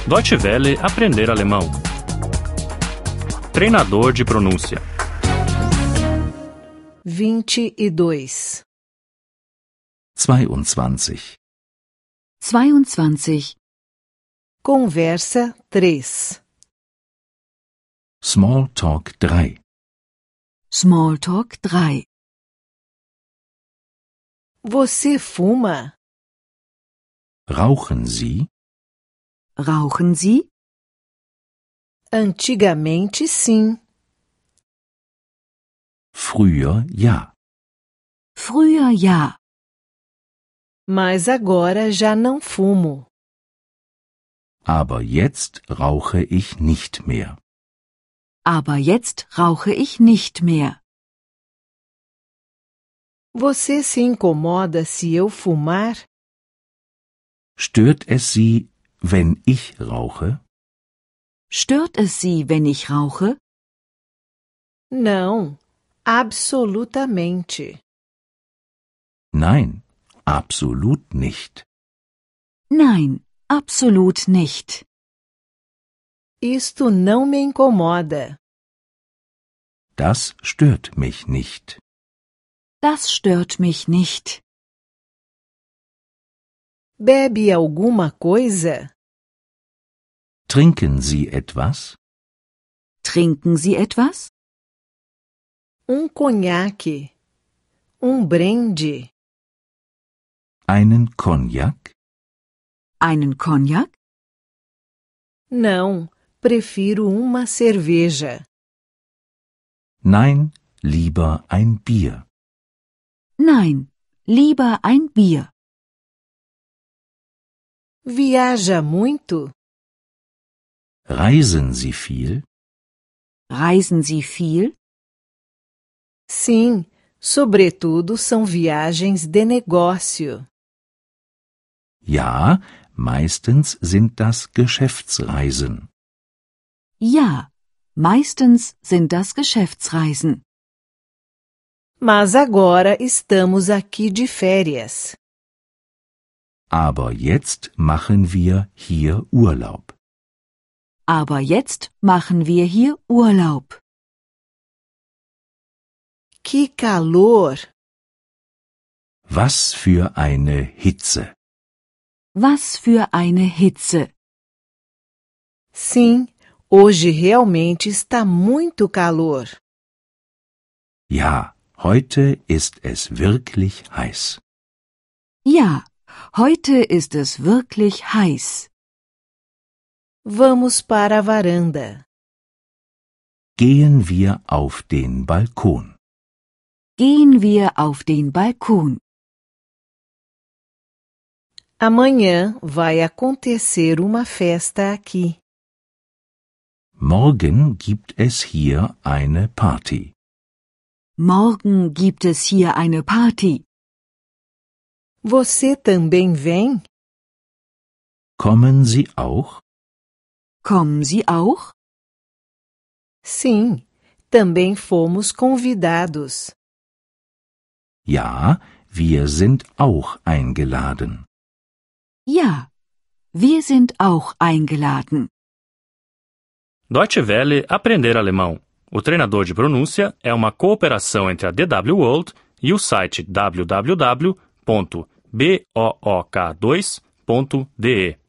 Deutsche Welle aprender alemão. Treinador de pronúncia. 22. 22. 22. Conversa 3. Smalltalk 3. Smalltalk 3. Você fuma? Rauchen Sie? Rauchen Sie? Antigamente, sim. Früher ja. Früher ja. Mas agora já não fumo. Aber jetzt rauche ich nicht mehr. Aber jetzt rauche ich nicht mehr. Você se incomoda se eu fumar? Stört es Sie, wenn ich rauche? Stört es Sie, wenn ich rauche? Não, absolutamente. Nein, absolut nicht. Nein, absolut nicht. Isto não me incomoda. Das stört mich nicht. Das stört mich nicht. Bebe alguma coisa? Trinken Sie etwas? Trinken Sie etwas? Conhaque. Brinde. Einen Cognac? Einen Cognac? Não, prefiro uma cerveja. Nein, lieber ein Bier. Nein, lieber ein Bier. Viaja muito? Reisen Sie viel? Reisen Sie viel? Sim, sobretudo são viagens de negócio. Ja, meistens sind das Geschäftsreisen. Ja, meistens sind das Geschäftsreisen. Mas agora estamos aqui de férias. Aber jetzt machen wir hier Urlaub. Aber jetzt machen wir hier Urlaub. Que calor! Was für eine Hitze. Was für eine Hitze. Sim, hoje realmente está muito calor. Ja, heute ist es wirklich heiß. Ja, heute ist es wirklich heiß. Vamos para a varanda. Gehen wir auf den Balkon. Gehen wir auf den Balkon. Amanhã vai acontecer uma festa aqui. Morgen gibt es hier eine Party. Morgen gibt es hier eine Party. Você também vem? Kommen Sie auch? Kommen Sie auch? Sim, também fomos convidados. Ja, wir sind auch eingeladen. Ja, wir sind auch eingeladen. Deutsche Welle aprender alemão. O treinador de pronúncia é uma cooperação entre a DW World e o site www.book2.de.